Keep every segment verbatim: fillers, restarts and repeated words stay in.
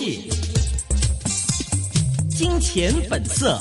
戏，金钱本色。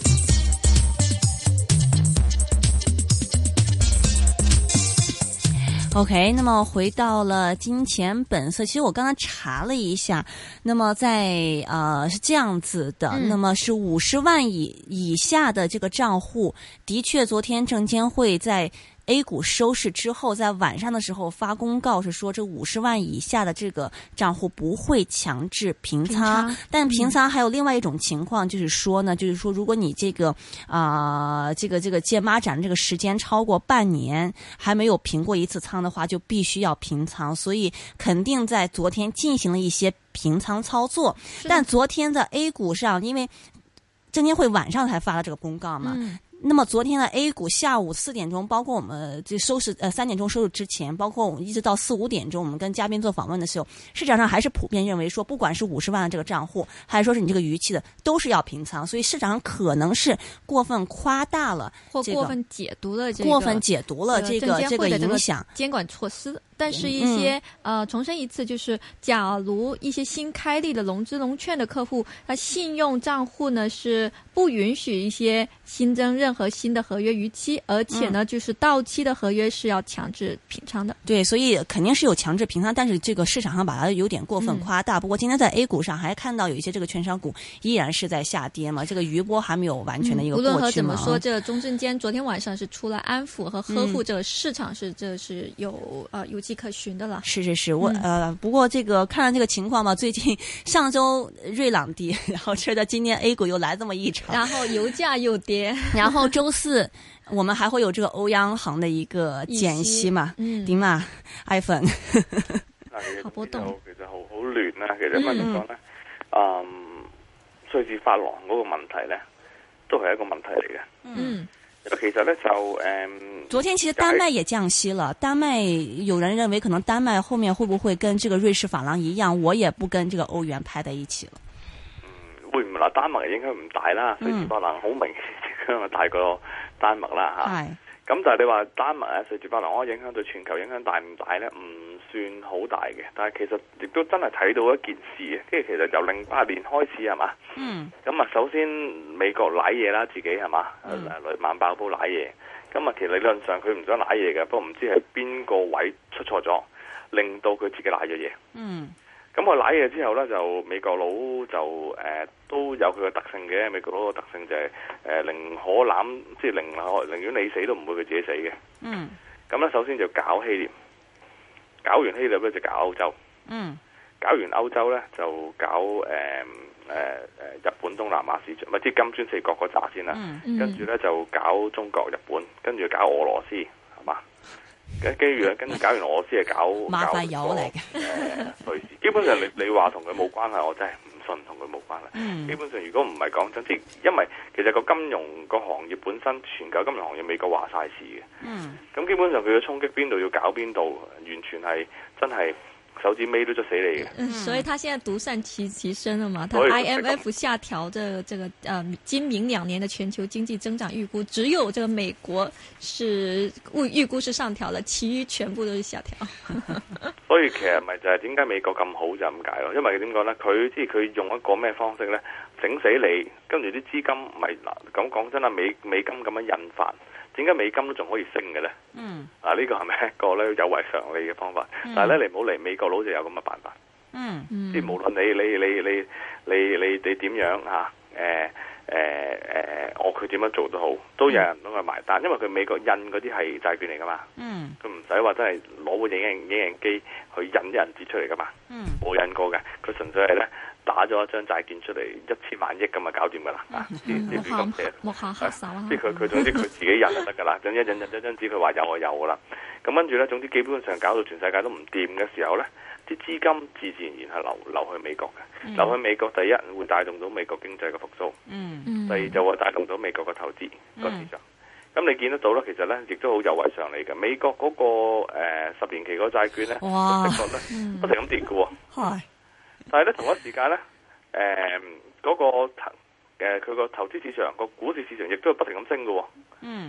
OK， 那么回到了金钱本色，其实我刚刚查了一下，那么在呃是这样子的，嗯、那么是五十万以以下的这个账户，的确昨天证监会在A 股收市之后，在晚上的时候发公告是说，这五十万以下的这个账户不会强制平仓，平但平仓还有另外一种情况，就是说呢，嗯、就是说如果你这个啊、呃、这个这个借孖展这个时间超过半年还没有平过一次仓的话，就必须要平仓，所以肯定在昨天进行了一些平仓操作，但昨天在 A 股上，因为证监会晚上才发了这个公告嘛。嗯那么昨天的 A 股下午四点钟，包括我们这收市呃三点钟收市之前，包括我们一直到四五点钟，我们跟嘉宾做访问的时候，市场上还是普遍认为说，不管是五十万的这个账户，还是说是你这个逾期的，都是要平仓，所以市场上可能是过分夸大了、这个， 或过分解读了这个过分解读了这个这个影响监管措施。但是一些、嗯、呃，重申一次，就是假如一些新开立的融资融券的客户，他信用账户呢是不允许一些新增任何新的合约逾期，而且呢，嗯、就是到期的合约是要强制平仓的。 对，所以肯定是有强制平仓，但是这个市场上把它有点过分夸大。嗯、不过今天在 A 股上还看到有一些这个券商股依然是在下跌嘛，这个余波还没有完全的一个过去嘛。 嗯、无论和怎么说，这个中证监昨天晚上是出来安抚和呵护这个市场是，是、嗯、这是有呃有迹可循的了。 是是是，我、嗯、呃，不过这个看了这个情况嘛，最近上周瑞朗跌，然后这的今天 A 股又来这么一场， 然后油价又跌， 然後周四我們還會有這個歐央行的一個減息嘛？點啊 ，iPhone 好波動， 其實好好亂啦。其實乜點講咧？嗯，瑞士法郎嗰個問題咧，都係一個問題嚟嘅。嗯。其實咧就誒，嗯、 昨天其實丹麥也降息了。丹麥有人認為可能丹麥後面會不會跟這個瑞士法郎一樣，我也不跟這個歐元拍在一起了。 嗯，會唔會嗱？丹麥影響唔大啦，瑞士法郎好明顯影響大過丹麥啦嚇。係、嗯。咁、啊、但係你話丹麥啊，瑞士法郎可以影響對全球影響大唔大咧？唔算好大嘅。但係其實亦都真係睇到一件事嘅，跟住其實由零八年開始係嘛？嗯。咁啊，首先美國瀨嘢啦，自己係嘛？嗯。雷曼爆煲瀨嘢，咁啊，其實理論上佢唔想瀨嘢嘅，不過唔知係邊個位出錯咗，令到佢自己瀨咗嘢。嗯。咁佢瀨嘢之後咧，就美國佬就誒、呃、都有佢嘅特性嘅。美國佬嘅特性就係、是、誒、呃、寧可攬，即係寧可寧願你死都唔會佢自己死嘅。嗯。咁咧，首先就搞希臘，搞完希臘咧就搞歐洲。嗯。搞完歐洲咧就搞誒誒誒日本東南亞市場，咪即係金磚四國嗰扎先啦。嗯、跟住咧就搞中國、日本，跟住搞俄羅斯，係嘛？跟住咧，跟住搞完俄羅斯係搞馬快友嚟嘅。 誒，瑞士基本上你你話同佢冇關係，我真係唔信同佢冇關係。嗯、基本上如果唔係講真，即係因為其實個金融個行業本身，全球金融行業美國話晒事嘅。嗯。咁基本上佢嘅衝擊邊度要搞邊度，完全係真係。手指尾都捉死你嘅、 嗯，所以他現在獨善其其身了嘛？他 I M F 下調這個、這個呃今明兩年的全球經濟增長預估，只有這個美國是預預估是上調了，其餘全部都是下調。 所以其實咪就係點解美國咁好就咁解咯？因為點講咧？佢即係佢用一個咩方式咧，整死你，跟住啲資金咪嗱咁講真啦，美美金咁樣印發。點解美金都仲可以升嘅咧？嗯，啊、這個、呢個係咪一個咧有違常理嘅方法？嗯、但係咧你唔好嚟美國佬就有咁嘅辦法。嗯，即係無論你你你你你你你點樣嚇誒誒誒，我佢點樣做都好，都有人幫佢埋單，因為佢美國印嗰啲係債券嚟噶嘛。嗯，佢唔使話真係攞部影印影印機去印啲銀紙出嚟噶嘛。嗯，冇印過嘅，佢純粹係咧。打咗一張債券出嚟一千萬億咁啊，搞掂噶啦！啊，啲啲亂咁寫， 木下黑手啊！ 即係佢佢總之佢自己印就得噶啦，總之印印印張張紙佢話有就有噶啦。咁跟住咧，總之基本上搞到全世界都唔掂嘅時候咧，啲資金自自然然係流流去美國嘅，嗯、流去美國第一會帶動到美國經濟嘅復甦，嗯、第二就會帶動到美國嘅投資個市場。咁、嗯、你見得到啦，其實咧亦都好有違常理嘅。美國嗰、那個誒、呃、十年期嗰債券咧，哇，的確咧、嗯、不停咁跌嘅喎。係。但係咧，同一時間咧，誒、呃、嗰、那個誒佢個投資市場、個股市市場亦都係不停咁升嘅喎。嗯。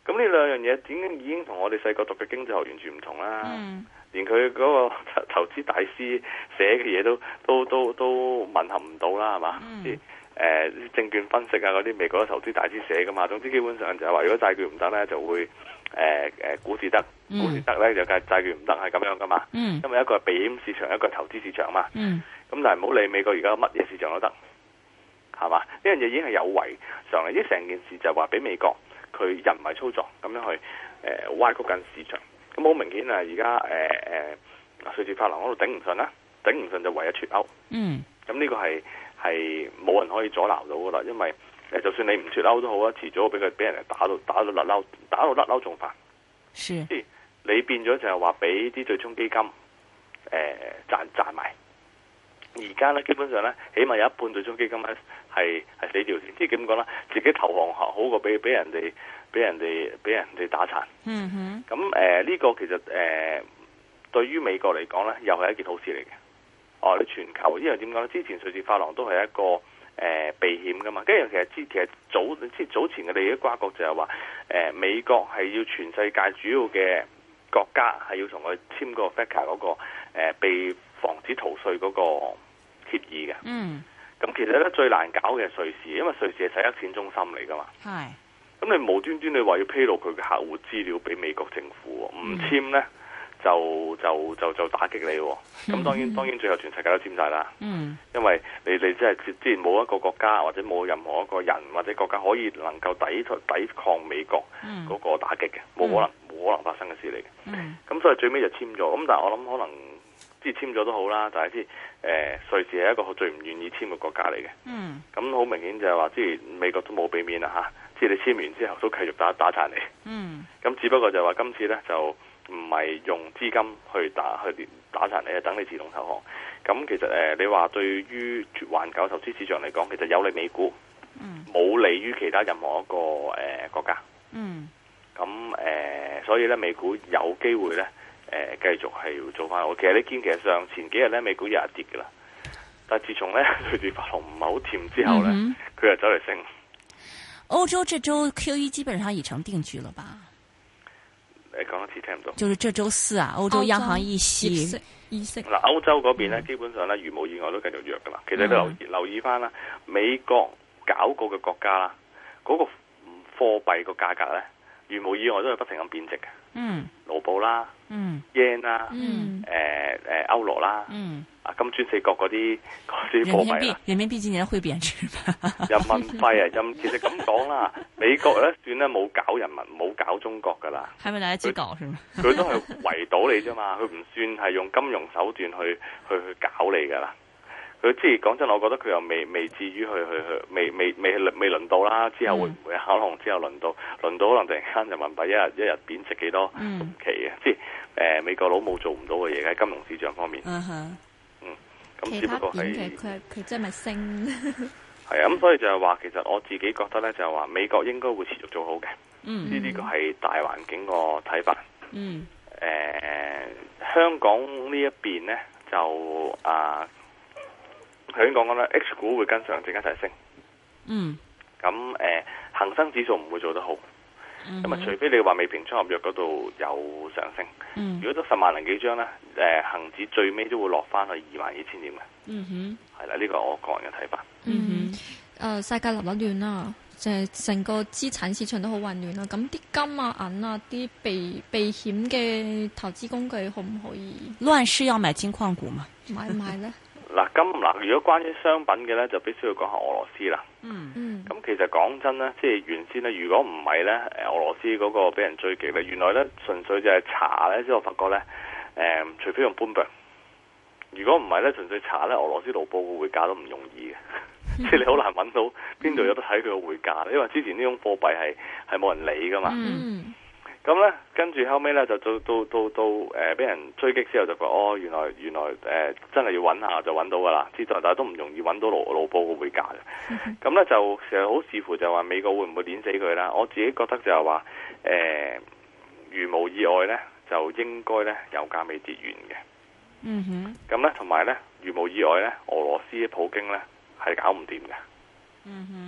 咁呢兩樣嘢點解已經同我哋細個讀嘅經濟學完全唔同啦？ 嗯、 連佢嗰個投資大師寫嘅嘢都都都都吻合唔到啦，係嘛？啲誒證券分析啊嗰啲美國嘅投資大師寫噶嘛。總之基本上就係話，如果債券唔得咧，就會誒誒、呃、股市得，股市得咧就係債券唔得，係咁樣噶嘛。 嗯、 因為一個係避險市場，一個係投資市場嘛。咁、 嗯、 但係唔好理美國而家乜嘢市場都得，係嘛？呢樣嘢已經係有違常理。呢成件事就係話俾美國佢人為操作咁樣去誒、呃、歪曲緊市場。咁好明顯啊！而家誒誒瑞士法郎嗰度頂唔順啦，頂唔順就唯一脫歐。 嗯。 咁呢個係係冇人可以阻撓到噶啦，因為誒就算你唔脫歐都好啊，遲早俾佢俾人哋打到打到甩嬲，打到甩嬲仲煩。 是。 即係你變咗就係話俾啲對沖基金誒、呃、賺賺埋。而家咧基本上咧，起碼有一半對沖基金咧係係死掉先。即係點講咧？自己投降好過俾俾人哋俾人哋俾人哋打殘。 嗯哼。 咁誒呢個其實誒、呃、對於美國嚟講咧，又係一件好事嚟嘅。哦，你全球呢樣點講咧？之前瑞士法郎都係一個誒、呃、避險噶嘛。跟住其實之其實早即早前嘅利益瓜葛就係話誒美國係要全世界主要嘅國家係要同佢簽個 F A T C A 嗰個、呃、被防止逃稅嗰個協議嘅。 嗯。 咁其實咧最難搞嘅係瑞士，因為瑞士係洗黑錢中心嚟噶嘛。 係。咁你無端端你話要披露佢嘅客戶資料俾美國政府，唔簽咧就就就就打擊你。咁當然當然最後全世界都簽晒啦。嗯。因為你你即係之前冇一個國家或者冇任何一個人或者國家可以能夠抵抵抗美國嗰個打擊嘅，冇、嗯、可能冇可能發生嘅事嚟嘅。嗯。咁所以最尾就簽咗。咁但係我諗可能即係簽咗都好啦，但係即係誒瑞士係一個最唔願意簽嘅國家嚟嘅。嗯。咁好明顯就係話，即係美國都冇俾面啦嚇。即係你簽完之後都繼續打打殘你，嗯，咁只不過就係話今次咧就唔係用資金去打去打殘你，係等你自動投降。咁其實誒、呃，你話對於環球投資市場嚟講，其實有利美股，嗯，冇利於其他任何一個誒、呃、國家，嗯，咁誒、呃，所以咧美股有機會咧誒、呃、繼續係要做翻好。其實你見其實上前幾日咧美股又係跌噶啦，但係自從咧瑞士法郎唔係好甜之後咧，佢、嗯、又走嚟升。 歐洲這周 Q E 基本上已成定局了吧？ 誒，講一次聽唔到。 就是這周四啊，歐洲央行議息議息。嗱， 歐洲嗰邊咧，基本上咧，如無意外都繼續弱噶啦。其實你留意、嗯、留意翻啦，美國搞過嘅國家啦，嗰、那個貨幣個價格咧，如無意外都係不停咁貶值嘅。嗯。盧布啦。嗯。yen 啦。嗯。誒、呃、誒，歐羅啦。嗯。啊，金磚四國嗰啲嗰啲貨幣啦， 人民幣今年會貶值嗎？ 人民幣啊，任其實咁講啦，美國咧算咧冇搞人民，冇搞中國噶啦， 係咪大家自搞是嗎？ 佢都係圍堵你啫嘛，佢唔算係用金融手段去去去搞你噶啦。佢即係講真，我覺得佢又未未至於去去去，未未未未輪到啦。之後會唔會可能之後輪到輪到可能突然間人民幣一日一日貶值幾多唔奇嘅，即係誒美國佬冇做唔到嘅嘢喺金融市場方面。Uh huh. 其他點嘅佢佢真係咪升？ 係啊，咁所以就係話，其實我自己覺得咧，就係話美國應該會持續做好嘅。嗯，呢啲個係大環境個睇法。嗯。誒、呃，香港呢一邊咧就啊，頭先講講咧 H 股會跟上證一齊升。嗯。咁誒、呃，恒生指數唔會做得好。咁啊，除非你話未平倉合約嗰度有上升，嗯、如果都十萬零幾張咧，誒、呃，恒指最尾都會落翻去二萬二千點嘅。嗯哼，係啦，呢、這個我個人嘅睇法。 嗯哼，誒、呃，世界立立亂啦，就係成個資產市場都好混亂啦。咁啲金啊、銀啊、啲避避險嘅投資工具可唔可以？ 亂世要買金礦股嘛？ 買唔買咧？ 嗱，金嗱，如果關於商品嘅咧，就必須要講下俄羅斯啦。嗯嗯。咁其實講真咧，即係原先咧，如果唔係咧，誒俄羅斯嗰個俾人追擊咧，原來咧純粹就係查咧，即係我發覺咧，誒、呃，除非用 Bloomberg，如果唔係咧，純粹查咧，俄羅斯盧布嘅匯價都唔容易嘅，即係、嗯、你好難揾到邊度有得睇佢個匯價，因為之前呢種貨幣係係冇人理噶嘛。嗯。咁咧，跟住後尾咧就到到到到誒，俾、呃、人追擊之後就覺哦，原來原來誒、呃、真係要揾下就揾到噶啦，知道，但係都唔容易揾到盧盧布個匯價嘅。咁咧就其實好視乎就話美國會唔會碾死佢啦。我自己覺得就係話誒，如無意外咧，就應該咧油價未跌完嘅。嗯哼。咁咧同埋咧，如無意外咧，俄羅斯普京咧係搞唔掂嘅。嗯哼。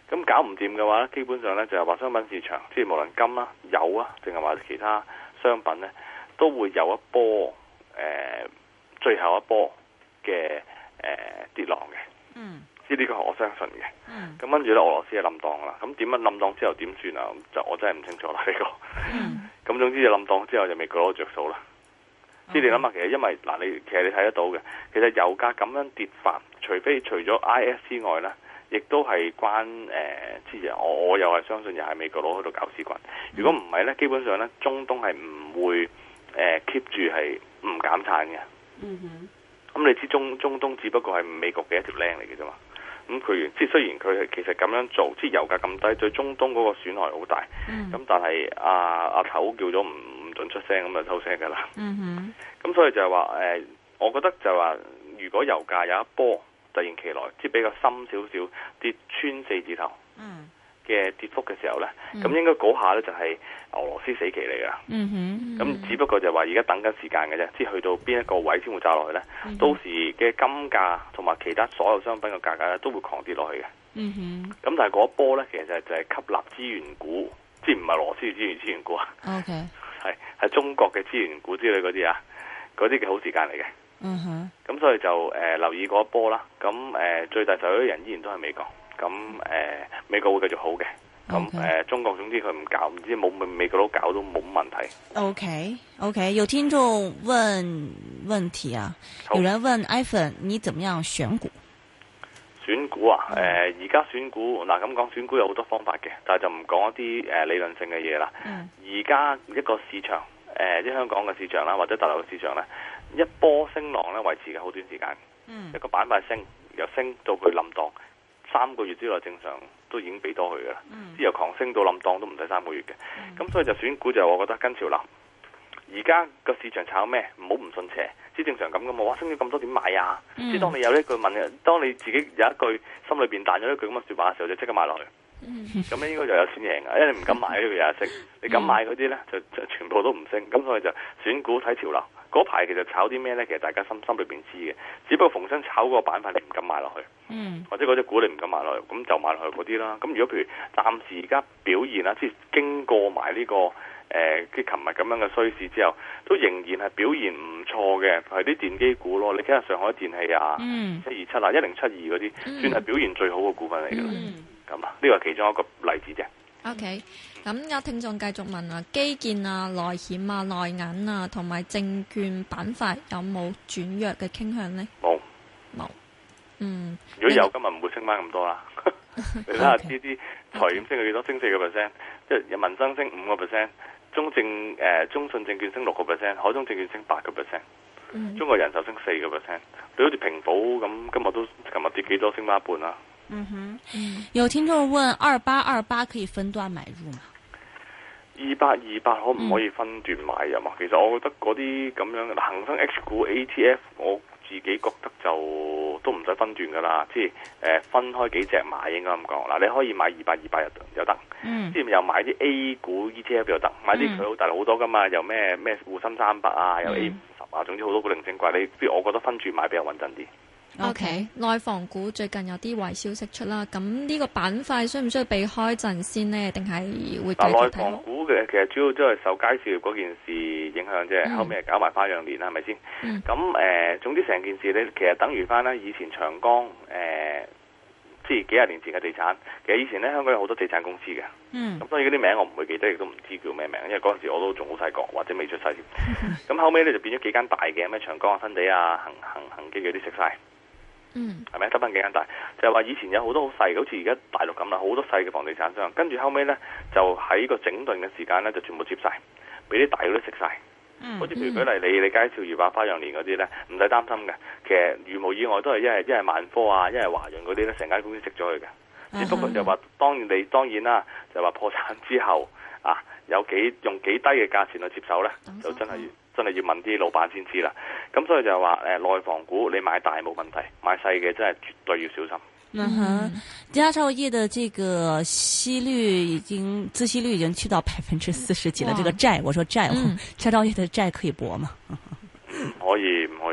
咁搞唔掂嘅話咧，基本上咧就係話商品市場，即係無論金啦、油啊，定係話其他商品咧，都會有一波誒、呃、最後一波嘅誒、呃、跌浪嘅。嗯，即係呢個係我相信嘅。嗯，咁跟住咧，俄羅斯係冧檔啦。咁點樣冧檔之後點算啊？就我真係唔清楚啦呢、這個。嗯，咁總之就冧檔之後就美國攞着數啦。即係你諗下，其實因為嗱，你其實你睇得到嘅，其實油價咁樣跌法，除非除咗 I S 之外咧。亦都係關誒，之、呃、前我我又係相信又係美國佬喺度搞事棍。如果唔係咧，基本上咧，中東係唔會誒 keep 住係唔減產嘅。嗯哼。咁你知中中東只不過係美國嘅一條靚嚟嘅啫嘛。咁佢即係雖然佢係其實咁樣做，即係油價咁低，對中東嗰個損害好大。嗯。咁但係阿阿頭叫咗唔唔準出聲，咁就收聲㗎啦。嗯哼。咁所以就係話誒，我覺得就係話，如果油價有一波突然其來，即係比較深少少跌穿四字頭嘅跌幅嘅時候咧，咁、嗯、應該嗰下咧就係俄羅斯死期嚟噶。咁、嗯嗯、只不過就係話而家等緊時間嘅啫，即係去到邊一個位先會炸落去咧、嗯。到時嘅金價同埋其他所有商品嘅價格咧都會狂跌落去嘅。咁、嗯、但係嗰一波咧，其實就係吸納資源股，即係唔係俄羅斯嘅資源資源股啊？係、okay. 係中國嘅資源股之類嗰啲啊，嗰啲嘅好時間嚟嘅。嗯哼，咁所以就誒、呃、留意嗰一波啦。咁誒、呃、最大受益人依然都係美國。咁誒、呃、美國會繼續好嘅。咁誒、okay. 呃、中國總之佢唔搞，唔知冇美國佬搞都冇問題。OK OK， 有聽眾問問題啊，有人問 Ivan 你怎麼樣選股？ 選股啊，誒而家選股嗱咁講，選股有好多方法嘅，但係就唔講一啲誒、呃、理論性嘅嘢啦。而、嗯、家一個市場誒即係香港嘅市場啦，或者大陸嘅市場咧。一波升浪咧維持嘅好短時間、嗯，一個板塊升由升到佢冧檔，三個月之內正常都已經俾多佢噶啦。之、嗯、由狂升到冧檔都唔使三個月嘅。咁、嗯、所以就選股就我覺得跟潮流。而家個市場炒咩？唔好唔信邪，即正常咁噶嘛。哇，升咗咁多點買啊？即、嗯、係當你有一句問，當你自己有一句心裏邊彈咗一句咁嘅説話嘅時候，就即刻買落去。咁、嗯、咧應該就有錢贏嘅，因為你唔敢買呢個嘢升，你敢買嗰啲咧就就全部都唔升。咁所以就選股睇潮流。嗰排其實炒啲咩咧？其實大家心心裏邊知嘅，只不過逢親炒嗰個板塊你唔敢買落去，嗯，或者嗰隻股你唔敢買落去，咁就買落去嗰啲啦。咁如果譬如暫時而家表現啦，即係經過埋呢、這個誒，即係琴日咁樣嘅衰市之後，都仍然係表現唔錯嘅，係啲電機股咯。你睇下上海電氣啊，嗯，七二七啊，一零七二嗰啲，算係表現最好嘅股份嚟嘅。咁啊，呢個係其中一個例子啫。OK， 咁有聽眾繼續問啊，基建啊、內險啊、內銀啊，同埋證券板塊有冇轉弱嘅傾向呢？ 冇， 冇。嗯， 如果有，今日唔會升翻咁多啦。你睇下呢啲財險升咗幾多？升四個 percent， 即係民生升五個 percent， 中證誒、呃、中信證券升六個 percent， 海通證券升八個 percent， 中國人壽升四個 percent。你好似平保咁，今日都琴日跌幾多？升翻一半啦。 嗯哼，有聽眾問二八二八可以分段買入嗎？ 二八二八可唔可以分段買入啊？嗯、其實我覺得嗰啲咁樣嘅恒生 H 股 A T F， 我自己覺得就都唔使分段噶啦，即係誒、呃、分開幾隻買應該咁講。嗱，你可以買二八二八又又得，嗯，即係又買啲 A 股 E T F 又得，買啲佢好大好多噶嘛，又咩咩滬深三百啊，又 A 五十啊，總之好多古靈精怪。你不如我覺得分段買比較穩陣啲。 O K， 內房股最近有啲壞消息出啦，咁呢個板塊需唔需要避開陣先呢？定係會繼續睇？ 內房股嘅其實主要都係受佳兆業嗰件事影響啫、嗯，後尾係搞埋花樣年啦，係咪先？咁、嗯、誒、呃，總之成件事咧，其實等於翻咧以前長江誒，即、呃、係幾廿年前嘅地產。其實以前咧香港有好多地產公司嘅，咁、嗯、所以嗰啲名我唔會記得，亦都唔知叫咩名，因為嗰陣時我都仲好細個或者未出世。咁、嗯、後尾咧就變咗幾間大嘅，咩長江啊、新地啊、恒恒恒基嗰啲食晒。嗯，係咪得翻幾間大？就係、是、話以前有好多好細，好似而家大陸咁啦，好多細嘅房地產商。跟住後尾咧，就喺個整頓嘅時間咧，就全部接晒，俾啲大嗰啲食晒。嗯，好似譬如舉例，你你佳兆業啊、花樣年嗰啲咧，唔使擔心嘅。其實如無意外都係一係一係萬科啊，一係華潤嗰啲咧，成間公司食咗佢嘅。只不過就話當然你當然啦，就話破產之後啊，有幾用幾低嘅價錢去接手咧，就真係真係要問啲老闆先知啦。咁所以就係話誒，內房股你買大冇問題，買細嘅真係絕對要小心。 嗯哼，佳兆業的這個息率已經孳息率已經去到百分之四十幾了。這個債，我說債，佳兆業的債可以搏嗎？ 可以唔可以？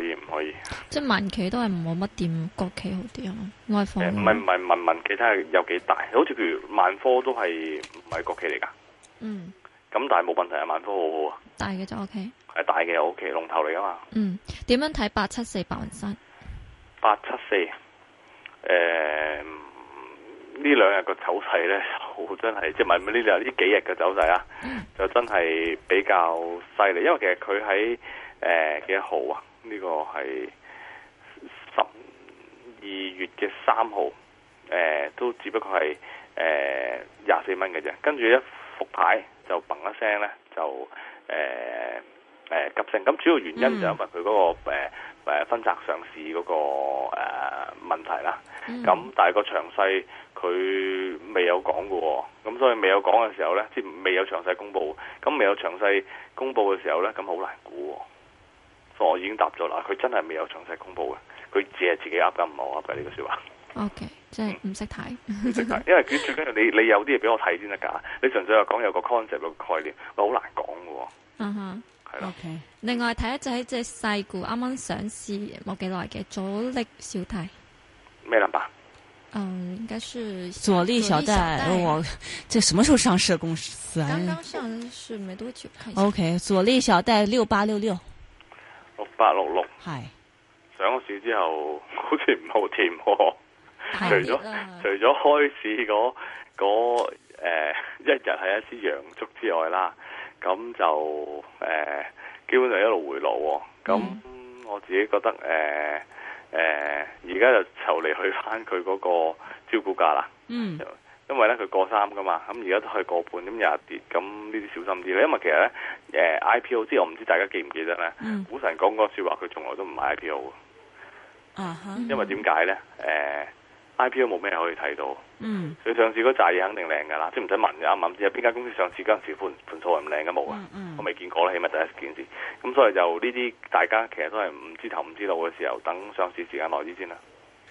以唔可以。 即係民企都係冇乜掂國企好啲啊，外房。 唔係唔係民民企睇下有幾大，好似譬如萬科都係唔係國企嚟㗎。嗯。咁但係冇問題啊，萬科好好啊。 大嘅就 O K。 係大嘅 O K，龍頭嚟㗎嘛。 嗯。點樣睇八七四白雲山？八七四，誒呢兩日個走勢咧，好真係即係唔係呢兩呢幾日嘅走勢啊，嗯、就真係比較犀利。因為其實佢喺誒幾號啊？呢、這個係十二月嘅三號，誒、呃、都只不過係誒廿四蚊嘅啫。跟住一復牌就砰一聲咧，就誒誒、呃呃、急升。咁主要原因就因為佢嗰、那個誒。呃誒分拆上市嗰、那個誒、呃、問題啦，咁、嗯、但係個詳細佢未有講嘅喎，咁所以未有講嘅時候咧，即係未有詳細公佈，咁未有詳細公佈嘅時候咧，咁好難估喎。所以我已經答咗啦，佢真係未有詳細公佈嘅，佢只係自己噏緊唔好噏嘅呢個説話。 O K，即係唔識睇， 唔識睇，因為佢最緊要你你有啲嘢俾我睇先得㗎，你純粹係講有個 concept 有個概念，我好難講嘅喎。 嗯哼。 Okay. 另外睇一隻喺隻細股啱啱上市冇幾耐嘅佐力小貸咩 number？ 嗯，應該是佐力小貸。我這什麼時候上市的公司啊？ 剛剛上市沒多久。 O K， 佐力小貸六八六六， 六八六六。 係上市之後好似唔好甜喎，除咗除咗開市嗰嗰誒一日係一支陽燭之外啦。咁就誒、呃，基本上一路回落喎、哦。咁、嗯、我自己覺得誒誒，而、呃、家、呃、就就嚟去翻佢嗰個招股價啦。嗯，因為咧佢過三噶嘛，咁而家都係過半，咁又跌，咁呢啲小心啲咧。因為其實咧，誒、呃、I P O 即係我唔知大家記唔記得咧，嗯、股神講嗰個説話，佢從來都唔買 I P O 嘅。啊哈！因為點解咧？誒、呃。I P O 冇咩可以睇到，嗯，佢上市嗰扎嘢肯定靚噶啦，即係唔使問嘅，啱唔啱？知有邊間公司上市嗰陣時盤盤數係唔靚嘅冇啊，嗯嗯、我未見過啦，起碼第一件事。咁所以就呢啲大家其實都係唔知頭唔知道嘅時候，等上市時間耐啲先啦。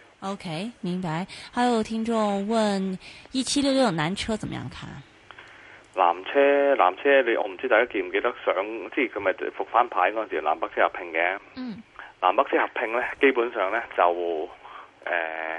OK，明白。還有聽眾問一七六六南車怎麼樣看？ 南車南車，你我唔知大家記唔記得上，即係佢咪復翻牌嗰陣時南北車合併嘅。嗯，南北車合併咧，基本上咧就誒。呃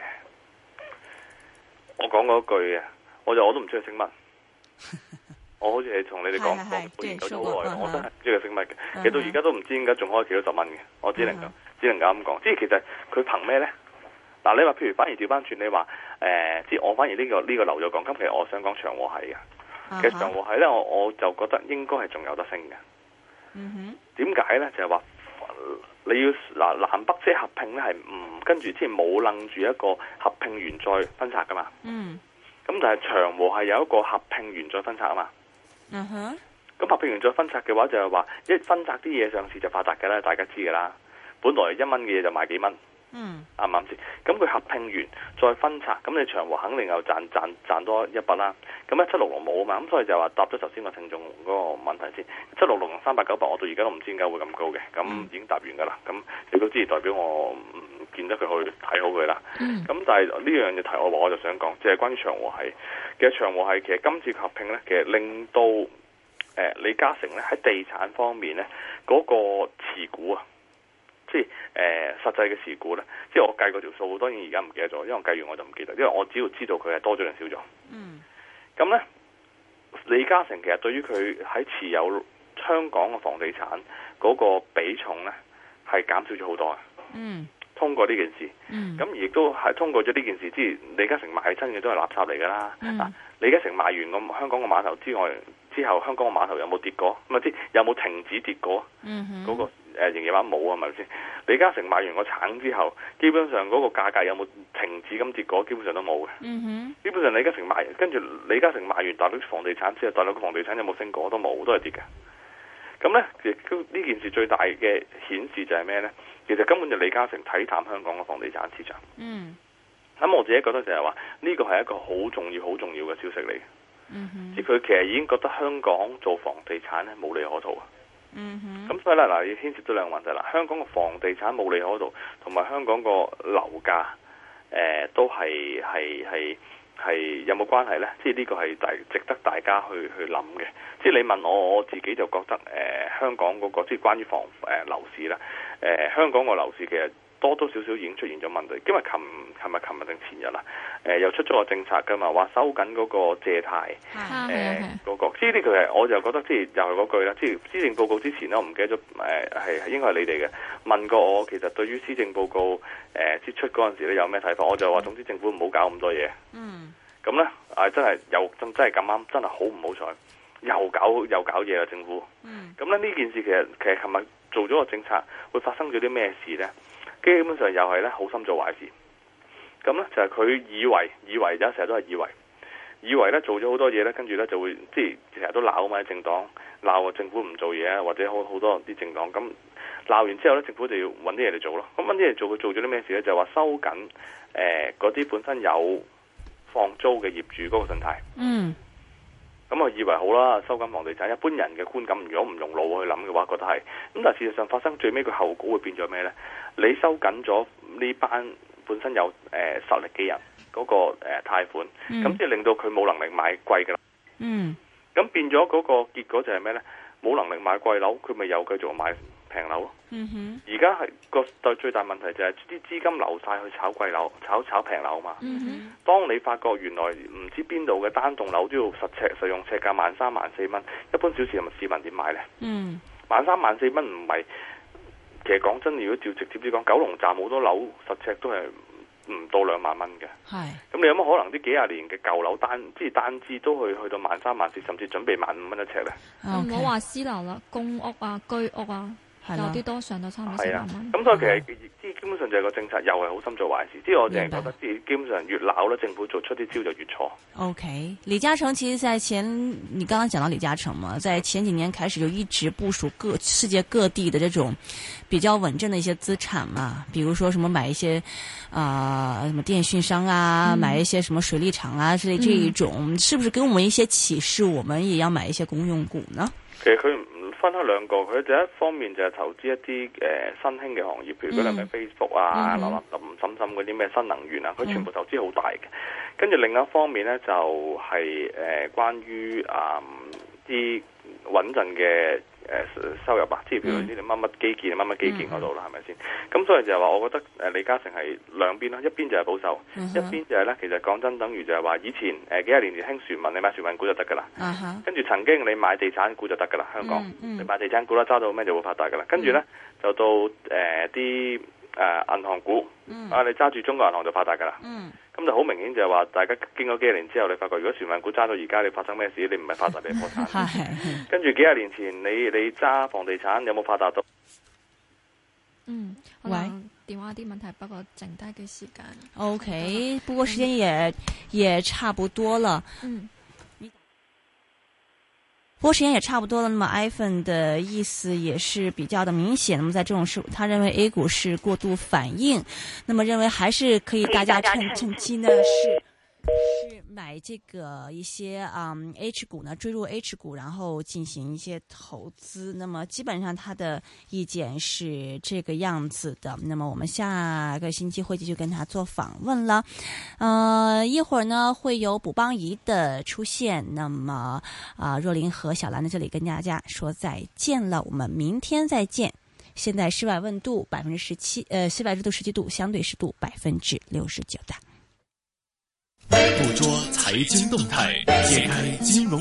我講嗰句嘅，我就我都唔知佢升乜。我好似係同你哋講過研究咗好耐，我真係唔知佢升乜嘅。其實到而家都唔知點解仲可以幾多十蚊嘅。我只能夠只能夠咁講。即係其實佢憑咩咧？嗱，你話譬如反而調翻轉，你話誒，即係我反而呢個呢個留咗講。咁其實我想講長和系嘅。其實長和系咧，我我就覺得應該係仲有得升嘅。嗯哼。點解咧？就係話。你要嗱南北車合併咧，係唔跟住即係冇楞住一個合併完再分拆噶嘛？嗯。咁但係長和係有一個合併完再分拆啊嘛。嗯哼。咁合併完再分拆嘅話，就係話一分拆啲嘢上市就發達嘅啦，大家知嘅啦。本來一蚊嘅嘢就賣幾蚊。嗯。啱唔啱先？咁佢合併完再分拆，咁你長和肯定又賺賺賺多一筆啦。咁咧七六六冇啊嘛，咁所以就話答咗頭先個聽眾嗰個問題先。七六六同三百九百，我到而家都唔知點解會咁高嘅。咁、嗯、已經答完噶啦。咁你都知，代表我唔見得佢去睇好佢啦。咁、嗯、但係呢樣嘢題我話，我就想講，即係關於長和系。其實長和系其實今次合併咧，其實令到誒、呃、李嘉誠咧喺地產方面咧嗰、那個持股啊。即係誒、呃、實際嘅事故咧，即係我計過條數，當然而家唔記得咗，因為我計完我就唔記得，因為我只要知道佢係多咗定少咗。嗯。咁咧，李嘉誠其實對於佢喺持有香港嘅房地產嗰個比重咧，係減少咗好多啊。嗯。通過呢件事。嗯。咁而亦都係通過咗呢件事，即係李嘉誠賣親嘅都係垃圾嚟㗎啦。嗯。嗱，李嘉誠賣完個香港個碼頭之外，之後香港個碼頭有冇跌過？咁啊，即有冇停止跌過？嗯哼。嗰個誒營業額冇啊，係咪先？李嘉誠賣完個橙之後，基本上嗰個價格有冇停止咁跌過？基本上都冇嘅。嗯哼。基本上李嘉誠賣，跟住李嘉誠賣完大陸房地產之後，大陸個房地產有冇升過？都冇，都係跌嘅。咁咧，亦都呢件事最大嘅顯示就係咩咧？其實根本就李嘉誠睇淡香港嘅房地產市場。嗯。咁我自己覺得就係話，呢個係一個好重要、好重要嘅消息嚟。嗯哼。即係佢其實已經覺得香港做房地產咧冇利可圖啊。嗯哼，咁所以咧嗱，要牽涉到兩個問題啦。香港嘅房地產冇利可圖，同埋香港個樓價誒都係係係係有冇關係呢？即係呢個係大值得大家去去諗嘅。即係你問我，我自己就覺得誒、呃、香港嗰、那個即係關於房誒、呃、樓市啦，誒、呃、香港個樓市其實多多少少已經出現咗問題。因為琴琴日、琴日定前日啦，誒、呃、又出咗個政策㗎嘛，話收緊嗰個借貸誒嗰個。即係呢個係我就覺得即係又係嗰句啦。即係施政報告之前咧，我唔記得咗誒係係應該係你哋嘅問過我，其實對於施政報告誒支、呃、出嗰陣時咧有咩睇法？我就話總之政府唔好搞咁多嘢。嗯。咁咧啊真係又真真係咁啱，真係好唔好彩，又搞又搞嘢啦政府。嗯。咁咧呢件事其實其實琴日做咗個政策，會發生咗啲咩事咧？基本上又係咧好心做壞事。咁咧就係、是、佢以為以為而家成日都係以為，以為咧做咗好多嘢咧，跟住咧就會即係成日都鬧啊嘛，政黨鬧政府唔做嘢啊，或者好好多啲政黨咁鬧完之後咧，政府就要揾啲嘢嚟做咯。咁揾啲嘢做，佢做咗啲咩事咧？就係、是、話收緊誒嗰啲本身有放租嘅業主嗰個信貸。嗯。咁我以為好啦，收緊房地產，一般人嘅觀感，如果唔用腦去諗嘅話，覺得係。咁但係事實上發生最尾個後果會變咗咩咧？你收緊咗呢班本身有誒、呃、實力嘅人嗰、那個誒、呃、貸款，咁即係令到佢冇能力買貴嘅樓。嗯。咁變咗嗰個結果就係咩咧？冇能力買貴樓，佢咪又繼續買平樓咯。嗯哼。而家係個對最大問題就係啲資金流晒去炒貴樓、炒炒平樓嘛。嗯哼。當你發覺原來唔知邊度嘅單棟樓都要實尺實用尺價萬三萬四蚊，一般小市民市民點買咧？嗯。萬三萬四蚊唔係，其實講真，如果照直接啲講，九龍站好多樓實尺都係唔到兩萬蚊嘅。係。咁你有乜可能啲幾廿年嘅舊樓單，即係單支都去去到萬三萬四，甚至準備萬五蚊一尺咧？唔好話私樓啦，公屋啊、居屋啊。有啲多上到差唔多四萬蚊。咁所以其實即係基本上就係個政策又係好心做壞事。即係我淨係覺得，即係基本上越鬧咧，政府做出啲招就越錯。 OK， 李嘉誠其實在前，你剛剛講到李嘉誠嘛，在前幾年開始就一直部署各世界各地的這種比較穩陣的一些資產嘛，比如說什麼買一些啊、呃、什麼電訊商啊、嗯，買一些什麼水利廠啊之類這一種、嗯，是不是給我們一些啟示？我們也要買一些公用股呢？ 其實佢分開兩個，佢第一方面就係投資一啲誒、呃、新興嘅行業，譬如嗰啲咩 Facebook 啊、林林沈沈嗰啲咩新能源啊，佢全部投資好大嘅。跟住另一方面咧，就係、是、誒、呃、關於啊啲穩陣嘅誒收入啊，即係譬如啲乜乜基建、乜乜基建嗰度啦，係咪先？咁所以就係話，我覺得誒李嘉誠係兩邊啦，一邊就係保守，嗯、一邊就係咧，其實講真，等於就係話以前誒、呃、幾廿年前興船運，你買船運股就得噶啦。跟、嗯、住曾經你買地產股就得噶啦，香港、嗯嗯、你買地產股啦，揸到咩就會發達噶啦。跟住咧就到誒啲誒銀行股，嗯、啊你揸住中國銀行就發達噶啦。嗯咁就好明顯就係話，大家經過幾廿年之後，你發覺如果船運股揸到而家，你發生咩事？你唔係發達，你破產。跟住幾廿年前，你你揸房地產有冇發達到？ 嗯，喂，電話啲問題，不過剩低嘅時間。 OK，不過時間也、嗯、也差不多了。嗯。不過時間也差不多了，那麼 iPhone 的意思也是比較的明顯。那麼在這種事，他認為 A 股是過度反應，那麼認為還是可以大家趁趁機呢是是買這個一些嗯 H 股呢，追入 H 股，然後進行一些投資。那麼基本上他的意見是這個樣子的。那麼我們下個星期會繼續跟他做訪問了。呃，一會兒呢會有卜邦儀的出現。那麼啊、呃，若琳和小蘭在這裡跟大家說再見了。我們明天再見。現在室外溫度百分之十七，呃，室外溫度十七度，相對濕度百分之六十九的。 捕捉財經動態，揭開金融。